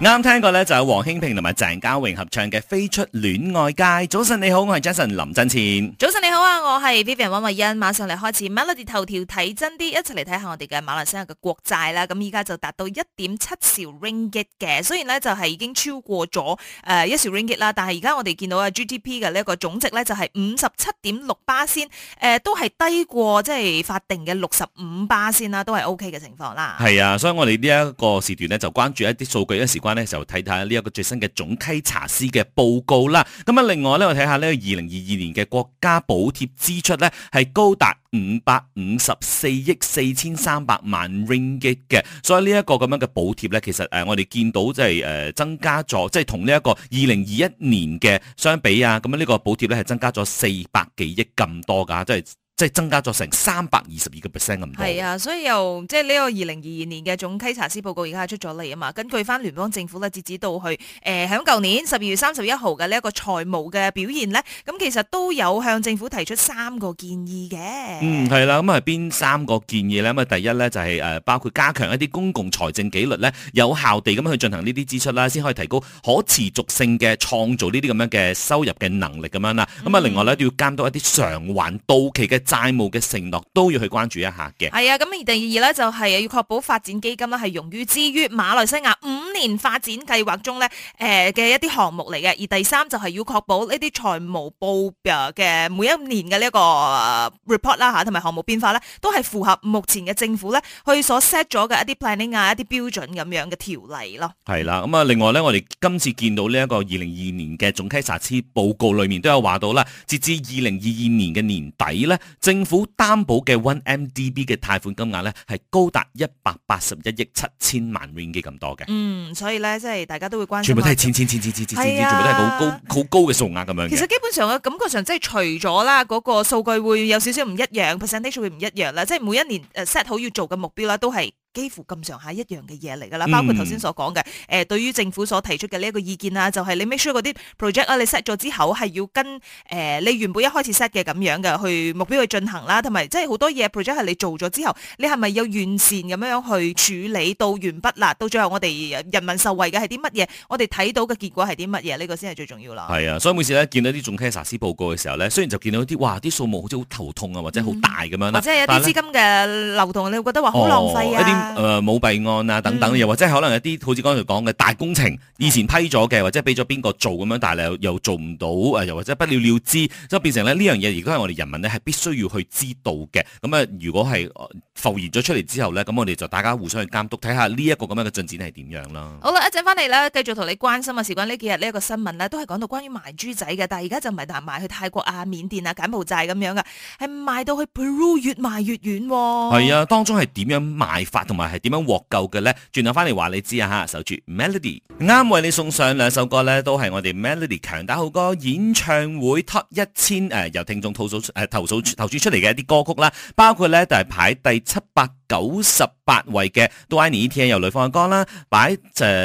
啱聽過咧，就有黃興平同埋鄭嘉穎合唱嘅《飛出戀愛街》。早晨你好，我係 Jason 林振前。 早晨你好啊，我係 Vivian 溫慧欣。馬上嚟開始 Melody 頭條睇真啲，一齊嚟睇下我哋嘅馬來西亞嘅國債啦。咁依家就達到 1.7 兆 ringgit 嘅，雖然咧就係已經超過咗1兆 ringgit 啦，但係而家我哋見到啊 GDP 嘅呢一個總值咧就係 57.6%，都係低過即係法定嘅65%啦，都係 OK 嘅情況啦。 係啊，所以我哋呢一個時段咧就關注一啲數據，一時關咧就睇睇呢一個最新嘅總稽查司嘅報告啦。咁啊，另外咧我睇下呢個2022年嘅國家補貼支出咧係高達554億4300萬 ringgit 嘅，所以呢一個咁樣嘅補貼咧，其實我哋見到即係增加咗，即係同呢一個2021年嘅相比啊，咁呢個補貼咧係增加咗400幾億咁多噶，即係增加咗成322%咁多。 係啊，所以又即係呢個2022年嘅總稽查司報告而家係出咗嚟啊嘛。根據翻聯邦政府咧，截止到去響舊年12月31號嘅呢一個財務嘅表現咧，咁其實都有向政府提出3個建議嘅。 係啦，咁係邊3個建議咧？咁啊，第一咧就係包括加強一啲公共財政紀律咧，有效地咁去進行呢啲支出啦，先可以提高可持續性嘅創造呢啲咁樣嘅收入嘅能力咁樣啦。咁啊，另外咧都要監督一啲償還到期嘅債務嘅承諾都要去關注一下嘅。 係啊，咁而第二咧就係要確保發展基金咧係用於之於馬來西亞5年發展計劃中咧嘅一啲項目嚟嘅。而第三就係要確保呢啲財務報表嘅每一年嘅呢一個 report 啦嚇，同埋項目變化咧都係符合目前嘅政府咧去所 set 咗嘅一啲 planning 啊、一啲標準咁樣嘅條例咯。 係啦，咁啊，另外咧，我哋今次見到呢一個2022年嘅總稽查司報告裏面都有話到啦，截至2022年嘅年底咧，政府擔保嘅 1MDB 嘅貸款金額咧係高達181億7千萬 ringgit 咁多嘅。 所以咧即係大家都會關心。 全部都係錢，全部都係好高嘅數額咁樣嘅。 其實基本上嘅感覺上即係除咗啦嗰個數據會有少少唔一樣 ，percentage 會唔一樣啦，即係每一年set 好要做嘅目標啦，都係幾乎咁上下一樣嘅嘢嚟㗎啦，包括頭先所講嘅對於政府所提出嘅呢一個意見啊，就係你 make sure 嗰啲 project 啊，你 set 咗之後係要跟你原本一開始 set 嘅咁樣嘅去目標去進行啦，同埋即係好多嘢 project 係你做咗之後，你係咪有完善咁樣去處理到完畢啦？到最後我哋人民受惠嘅係啲乜嘢？我哋睇到嘅結果係啲乜嘢？呢個先係最重要啦。 係啊，所以每次咧見到啲總稽查司報告嘅時候咧，雖然就見到啲數目好似好頭痛啊，或者好大咁樣啦， 或者係一啲資金嘅流動，你會覺得話好浪費啊。 舞弊案啊等等，又或者可能有啲好似剛才講嘅大工程，以前批咗嘅，或者俾咗邊個做咁樣，但係又做唔到，又或者不了了之，所以變成咧呢樣嘢，亦都係我哋人民咧係必須要去知道嘅。咁啊，如果係浮現咗出嚟之後咧，咁我哋就大家互相去監督，睇下呢一個咁樣嘅進展係點樣啦。 好啦，一陣翻嚟咧，繼續同你關心啊，事關呢幾日呢一個新聞咧，都係講到關於賣豬仔嘅，但係而家就唔係賣去泰國啊、緬甸啊、柬埔寨咁樣嘅，係賣到去 Peru 越賣越遠。 係啊，當中係點樣賣法，同埋係點樣獲救嘅咧？轉頭翻嚟話你知啊吓，守住 Melody， 啱為你送上2首歌咧，都係我哋 Melody 強打好歌演唱會 Top 1000由聽眾投訴出嚟嘅一啲歌曲啦，包括咧就係排第798位嘅都愛你一天由呂方嘅歌啦，擺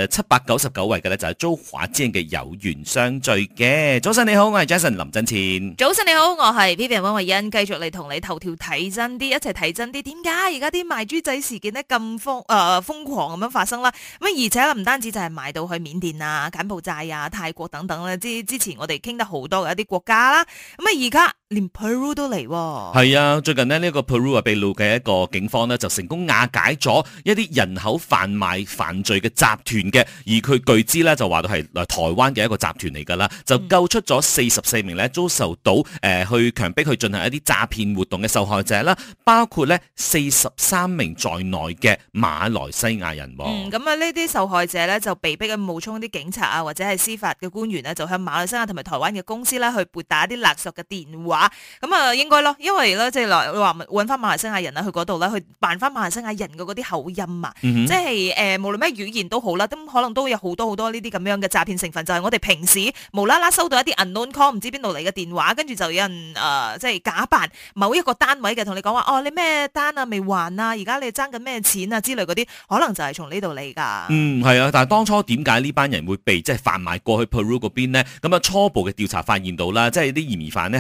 799位嘅咧就係周華健嘅有緣相聚嘅。早晨你好，我係 Jason 林振前。 早晨你好，我係 Vivian 溫慧欣，繼續嚟同你頭條睇真啲，一齊睇真啲。點解而家啲賣豬仔事件咧咁瘋狂咁樣發生啦？咁而且唔單止就係賣到去緬甸啊、柬埔寨啊、泰國等等咧，之前我哋傾得好多嘅一啲國家啦。咁而家連 Peru 都嚟。 係啊，最近呢個 Peru 秘魯嘅一個警方呢，就成功瓦解咗一啲人口販賣犯罪嘅集團嘅，而佢據知咧就話到係台灣嘅一個集團嚟噶啦，就救出咗44名咧遭受到去強迫去進行一啲詐騙活動嘅受害者啦，包括咧43名在內嘅馬來西亞人。 咁啊呢啲受害者咧就被逼嘅冒充啲警察啊或者係司法嘅官員咧，就向馬來西亞同埋台灣嘅公司咧去撥打一啲勒索嘅電話。咁啊應該咯，因為咧即係話揾翻馬來西亞人啦去嗰度咧去扮翻馬來西亞人嘅嗰啲口音啊，即係無論咩語言都好啦，咁可能都有好多呢啲咁樣嘅詐騙成分，就係我哋平時無啦啦收到一啲 unknown call 唔知邊度嚟嘅電話，跟住就有人即係假扮某一個單位嘅同你講話，哦你咩單啊未還啊，而家你爭緊咩錢啊之類嗰啲，可能就係從呢度嚟噶。 係啊，但係當初點解呢班人會被即係販賣過去 Peru 嗰邊呢？咁啊初步嘅調查發現到啦，即係啲嫌疑犯呢係以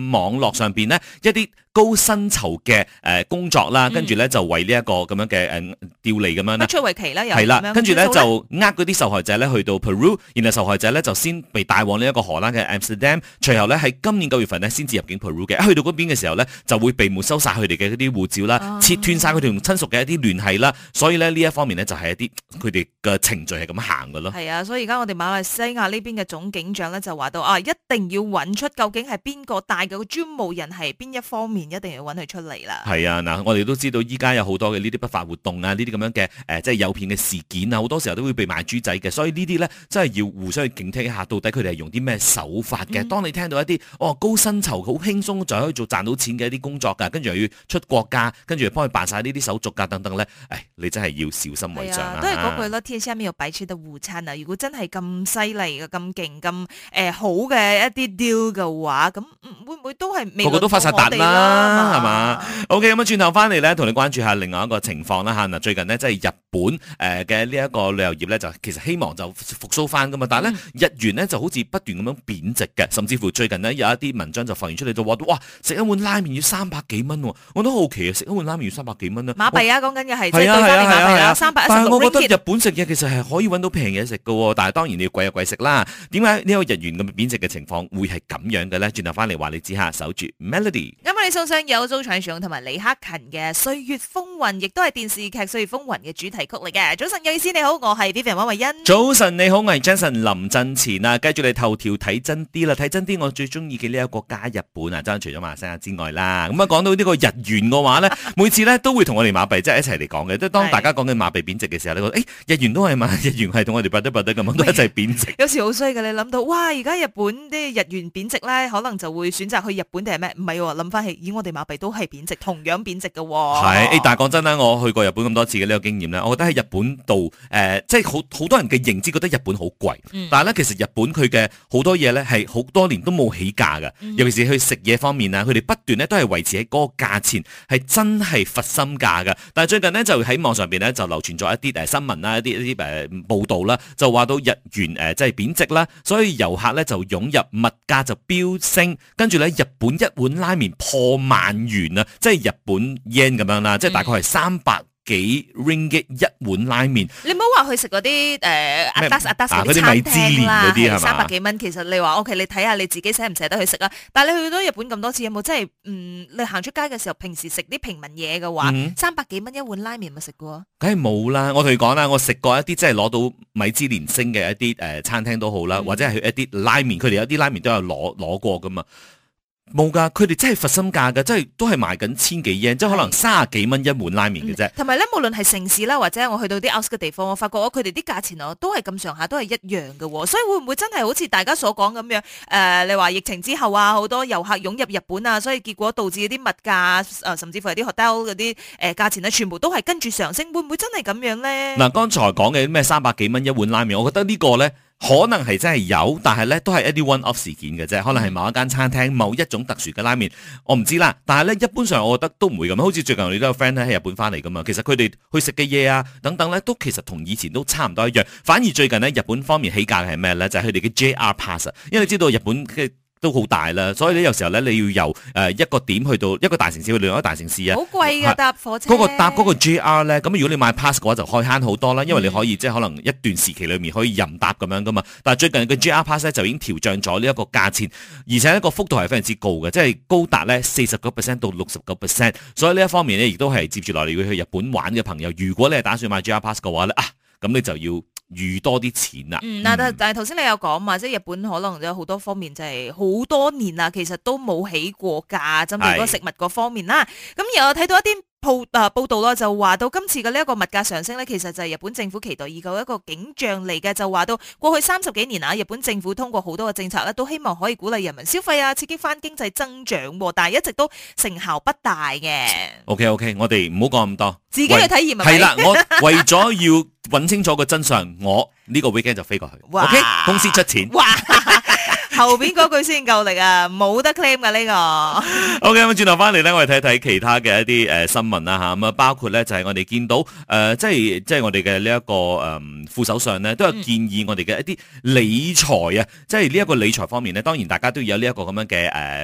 網絡上邊咧一啲高薪酬嘅工作啦，跟住咧就為呢一個咁樣嘅調離咁樣啦， 不出為奇啦，又係啦，跟住咧咁樣就嗰啲受害者咧去到 Peru， 然後受害者咧就先被帶往呢一個荷蘭嘅 Amsterdam， 隨後咧喺今年9月份咧先至入境 Peru 嘅，去到嗰邊嘅時候咧就會被沒收晒佢哋嘅嗰啲護照啦，切斷晒佢哋同親屬嘅一啲聯繫啦，所以咧呢一方面咧就係一啲佢哋嘅程序係咁行嘅咯。 係啊，所以而家我哋馬來西亞呢邊嘅總警長咧就話到一定要揾出究竟係邊個帶嘅個專務人係邊一方面，一定要揾佢出嚟啦。 係啊，嗱，我哋都知道依家有好多嘅呢啲不法活動啊，呢啲咁樣嘅即係誘騙嘅事件啊，好多時候都會被賣豬仔嘅，所以呢啲咧真係要互相去警惕一下，到底佢哋係用啲咩手法嘅。當你聽到一啲高薪酬好輕鬆就可以賺到錢嘅一啲工作㗎，跟住又要出國家，跟住幫佢辦晒呢啲手續㗎等等咧，你真係要小心為上啊！ 都係嗰句啦，天下面有擺出嘅午餐啊！如果真係咁犀利嘅、咁勁、咁好嘅一啲 deal 嘅話，咁會唔會都係個個都發晒達啦，係嘛？OK，咁轉頭翻嚟咧，同你關注下另外一個情況啦嚇。嗱，最近呢，即係日本嘅呢一個旅遊業咧，就其實希望就復甦翻噶嘛，但係咧日元咧就好似不斷咁樣貶值嘅，甚至乎最近呢，有一啲文章就發現出嚟就話哇，食一碗拉麵要300幾蚊喎，我都好奇啊，食一碗拉麵要300幾蚊啊！ 馬幣啊，講緊嘅係即係對翻嚟馬幣啦，316 ringgit。 但係我覺得日本食嘢其實係可以揾到平嘢食嘅喎，但係當然你要貴有貴食啦。點解呢個日元咁貶值嘅情況會係咁樣嘅咧？轉頭翻嚟話你知下，守住 Melody。 咁我哋送上有周傳雄同埋李克勤嘅《歲月風雲》，亦都係電視劇《歲月風雲》嘅主題曲嚟嘅。早晨有意思，你好，我係 Vivian 溫慧欣。 早晨你好，我係 Jason 林振前啊。跟住你頭條睇真啲啦，睇真啲，我最中意嘅呢一個國家日本啊，真係除咗馬來西亞之外啦。咁講到呢個日元嘅話咧，每次咧都會同我哋馬幣即係一齊嚟講嘅。即係當大家講緊馬幣貶值嘅時候，你覺得日元都係嘛？日元係同我哋不得咁樣都一齊貶值。 有時好衰嘅，你諗到哇，而家日本啲日元貶值咧，可能就會選擇去日本定係咩？唔係喎，諗翻起，以我哋馬幣都係貶值，同樣貶值嘅喎。 係，但係講真啦，我去過日本咁多次嘅呢個經驗咧，我覺得喺日本度即係好多人嘅認知覺得日本好貴，但係咧其實日本佢嘅好多嘢咧係好多年都冇起價嘅，尤其是去食嘢方面啊，佢哋不斷咧都係維持喺嗰個價錢，係真係佛心價嘅。但係最近呢，就喺網上邊咧就流傳咗一啲新聞啦，一啲報道啦，就話到日元即係貶值啦，所以遊客咧就湧入，物價就飆升，跟住咧日本一碗拉麵破萬元啊，即係日本 yen 咁樣啦，即係大概係300幾 ringgit 一碗拉麵。 你唔好話去食嗰啲阿達嗰啲米芝蓮嗰啲係嘛？ 300幾蚊，其實你話 OK，你睇下你自己捨唔捨得去食啊？但係你去到日本咁多次，有冇真係你行出街嘅時候，平時食啲平民嘢嘅話，300幾蚊一碗拉麵咪食過？ 梗係冇啦！我同你講啦，我食過一啲即係攞到米芝蓮星嘅一啲餐廳都好啦，或者係去一啲拉麵，佢哋有啲拉麵都有攞過噶嘛。冇噶，佢哋真係佛心價噶，即係都係賣緊千幾 yen，即係可能30幾蚊一碗拉麵嘅啫。 同埋咧，無論係城市啦，或者我去到啲 out 嘅地方，我發覺佢哋啲價錢都係咁上下，都係一樣嘅。所以會唔會真係好似大家所講咁樣？你話疫情之後啊，好多遊客湧入日本啊，所以結果導致啲物價甚至乎係啲 hotel 嗰啲價錢咧，全部都係跟住上升。會唔會真係咁樣咧？ 嗱，剛才講嘅咩300幾蚊一碗拉麵，我覺得呢個咧。可能係真係有，但係咧都係一啲 one-off 事件嘅啫。可能係某一間餐廳某一種特殊嘅拉麵，我唔知啦。但係咧一般上，我覺得都唔會咁。好似最近我哋都有 friend 喺日本翻嚟噶嘛，其實佢哋去食嘅嘢啊等等咧，都其實同以前都差唔多一樣。反而最近咧日本方面起價係咩咧？就係佢哋嘅 JR Pass，因為你知道日本嘅都好大啦，所以咧有時候咧你要由一個點去到一個大城市去另一個大城市啊， 好貴㗎搭火車。 搭嗰個 JR 咧，咁如果你買 pass 嘅話就可以慳好多啦，因為你可以即係可能一段時期裏面可以任搭咁樣噶嘛。但係最近嘅 JR Pass 咧就已經調漲咗呢一個價錢，而且一個幅度係非常之高嘅，即係高達咧49%到69%。所以呢一方面咧亦都係接住落嚟要去日本玩嘅朋友，如果你係打算買 JR Pass 嘅話咧咁你就要預多啲錢啦。 但係頭先你有講嘛，即係日本可能有好多方面就係好多年啦，其實都冇起過價，針對嗰個食物嗰方面啦。咁又有睇到一啲報道啦，就話到今次嘅呢一個物價上升咧，其實就係日本政府期待已久一個景象嚟嘅。就話到過去30幾年啊，日本政府通過好多嘅政策咧，都希望可以鼓勵人民消費啊，刺激翻經濟增長，但係一直都成效不大嘅。 OK， 我哋唔好講咁多， 自己去體驗係啦。我為咗要揾清楚個真相，我呢個 weekend 就飛過去。OK， 公司出錢。 哇後邊嗰句先夠力啊，冇得 claim 噶呢個。 OK， 咁轉頭翻嚟咧，我哋睇睇其他嘅一啲新聞啦吓，咁啊包括咧就係我哋見到即係我哋嘅呢一個副首相咧，都有建議我哋嘅一啲理財啊，即係呢一個理財方面咧，當然大家都有呢一個咁樣嘅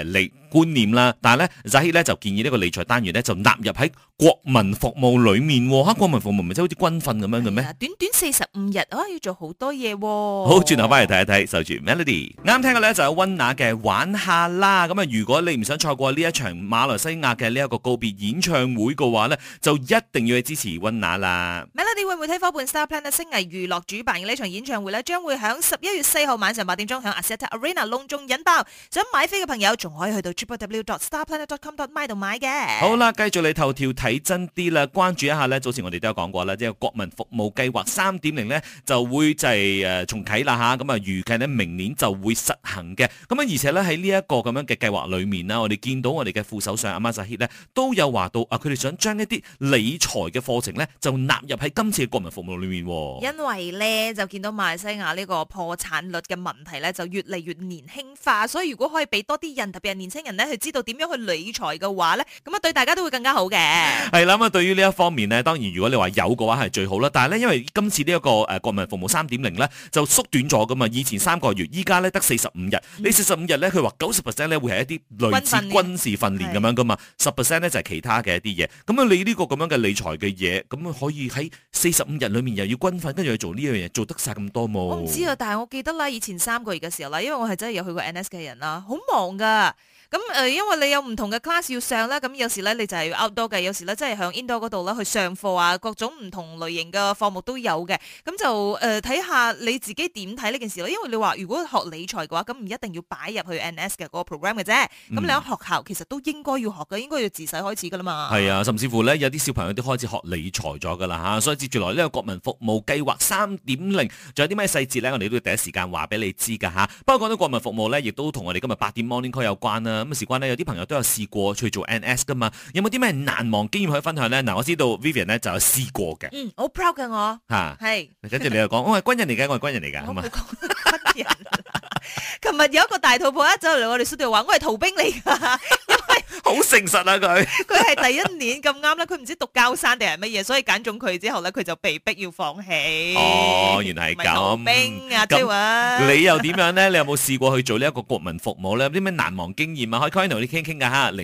觀念啦。但係咧 Zahid 咧就建議呢個理財單元咧就納入喺國民服務裏面喎。國民服務唔係即係好似軍訓咁樣嘅咩？ 短短45日要做好多嘢喎。 好，轉頭翻嚟睇一睇，守住 Melody。啱聽嘅咧就有溫拿嘅玩下啦。咁啊，如果你唔想錯過呢一場馬來西亞嘅呢一個告別演唱會嘅話咧，就一定要去支持溫拿啦。 Melody 會媒體夥伴 Star Planet 星藝娛樂主辦嘅呢場演唱會咧，將會喺11月4號晚上8點鐘喺 Axiata Arena 隆重引爆。想買飛嘅朋友仲可以去到 www.starplanet.com.my 度買嘅。 好啦，繼續嚟頭條睇真啲啦，關注一下咧。早前我哋都有講過啦，即係國民服務計劃3.0咧就會就係重啟啦嚇。咁啊預計咧明年就會實行嘅。咁啊而且咧喺呢一個咁樣嘅計劃裏面啦，我哋見到我哋嘅副首相阿馬扎希咧都有話到啊，佢哋想將一啲理財嘅課程咧就納入喺今次嘅國民服務裏面。 因為咧就見到馬來西亞呢個破產率嘅問題咧就越嚟越年輕化，所以如果可以俾多啲人，特別係年輕人咧去知道點樣去理財嘅話咧，咁啊對大家都會更加好嘅。 係啦，咁啊對於呢一方面咧，當然如果你話有嘅話係最好啦。但係咧，因為今次呢一個國民服務3.0咧就縮短咗噶嘛，以前3個月，依家咧得45日。你45日咧，佢話90% 咧會係一啲類似軍事訓練咁樣噶嘛，10% 咧就係其他嘅一啲嘢。咁啊，你呢個咁樣嘅理財嘅嘢，咁可以喺45日裏面又要軍訓，跟住去做呢樣嘢，做得晒咁多冇？ 我唔知啊，但係我記得啦，以前3個月嘅時候啦，因為我係真係有去過 NS 嘅人啦，好忙噶。咁因為你有唔同嘅 class 要上啦，咁有時咧你就係要 outdoor 嘅，有時咧即係響 indoor 嗰度啦去上課啊，各種唔同類型嘅課目都有嘅。咁就睇下你自己點睇呢件事咯。因為你話如果學理財嘅話，咁唔一定要擺入去 NS 嘅嗰個 program 嘅啫。咁你喺學校其實都應該要學嘅，應該要自細開始噶啦嘛。係啊，甚至乎咧有啲小朋友都開始學理財咗噶啦嚇，所以接住來呢個國民服務計劃3.0，仲有啲咩細節咧，我哋都要第一時間話俾你知噶嚇。不過講到國民服務咧，亦都同我哋今日8點 morning call 有關啦。咁事關呢，有啲朋友都有試過去做 NS 噶嘛，有冇啲咩難忘經驗可以分享咧？嗱，我知道 Vivian 咧就有試過嘅。 好 proud 嘅我嚇，係。 跟住你又講，我係軍人嚟嘅，我係軍人嚟㗎，係嘛？ 軍人。琴日有一個大肚婆一走嚟我哋 studio 話，我係逃兵嚟㗎。 好誠實啊佢， 佢係第一年咁啱啦，佢唔知讀交山定係乜嘢，所以揀中佢之後咧，佢就被逼要放棄。 哦，原來係咁。 逃兵啊，即係話。 你又點樣咧？你有冇試過去做呢一個國民服務咧？有啲咩難忘經驗啊？可以 call 同你傾傾㗎嚇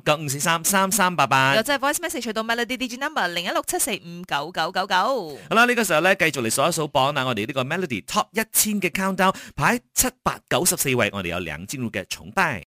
，0395433388。 又就係 voice message 去到 Melody Digi Number 0167459999。 好啦，呢個時候咧，繼續嚟數一數榜啊！我哋呢個 Melody Top 1000嘅 countdown 排794位，我哋有梁靜茹嘅崇拜。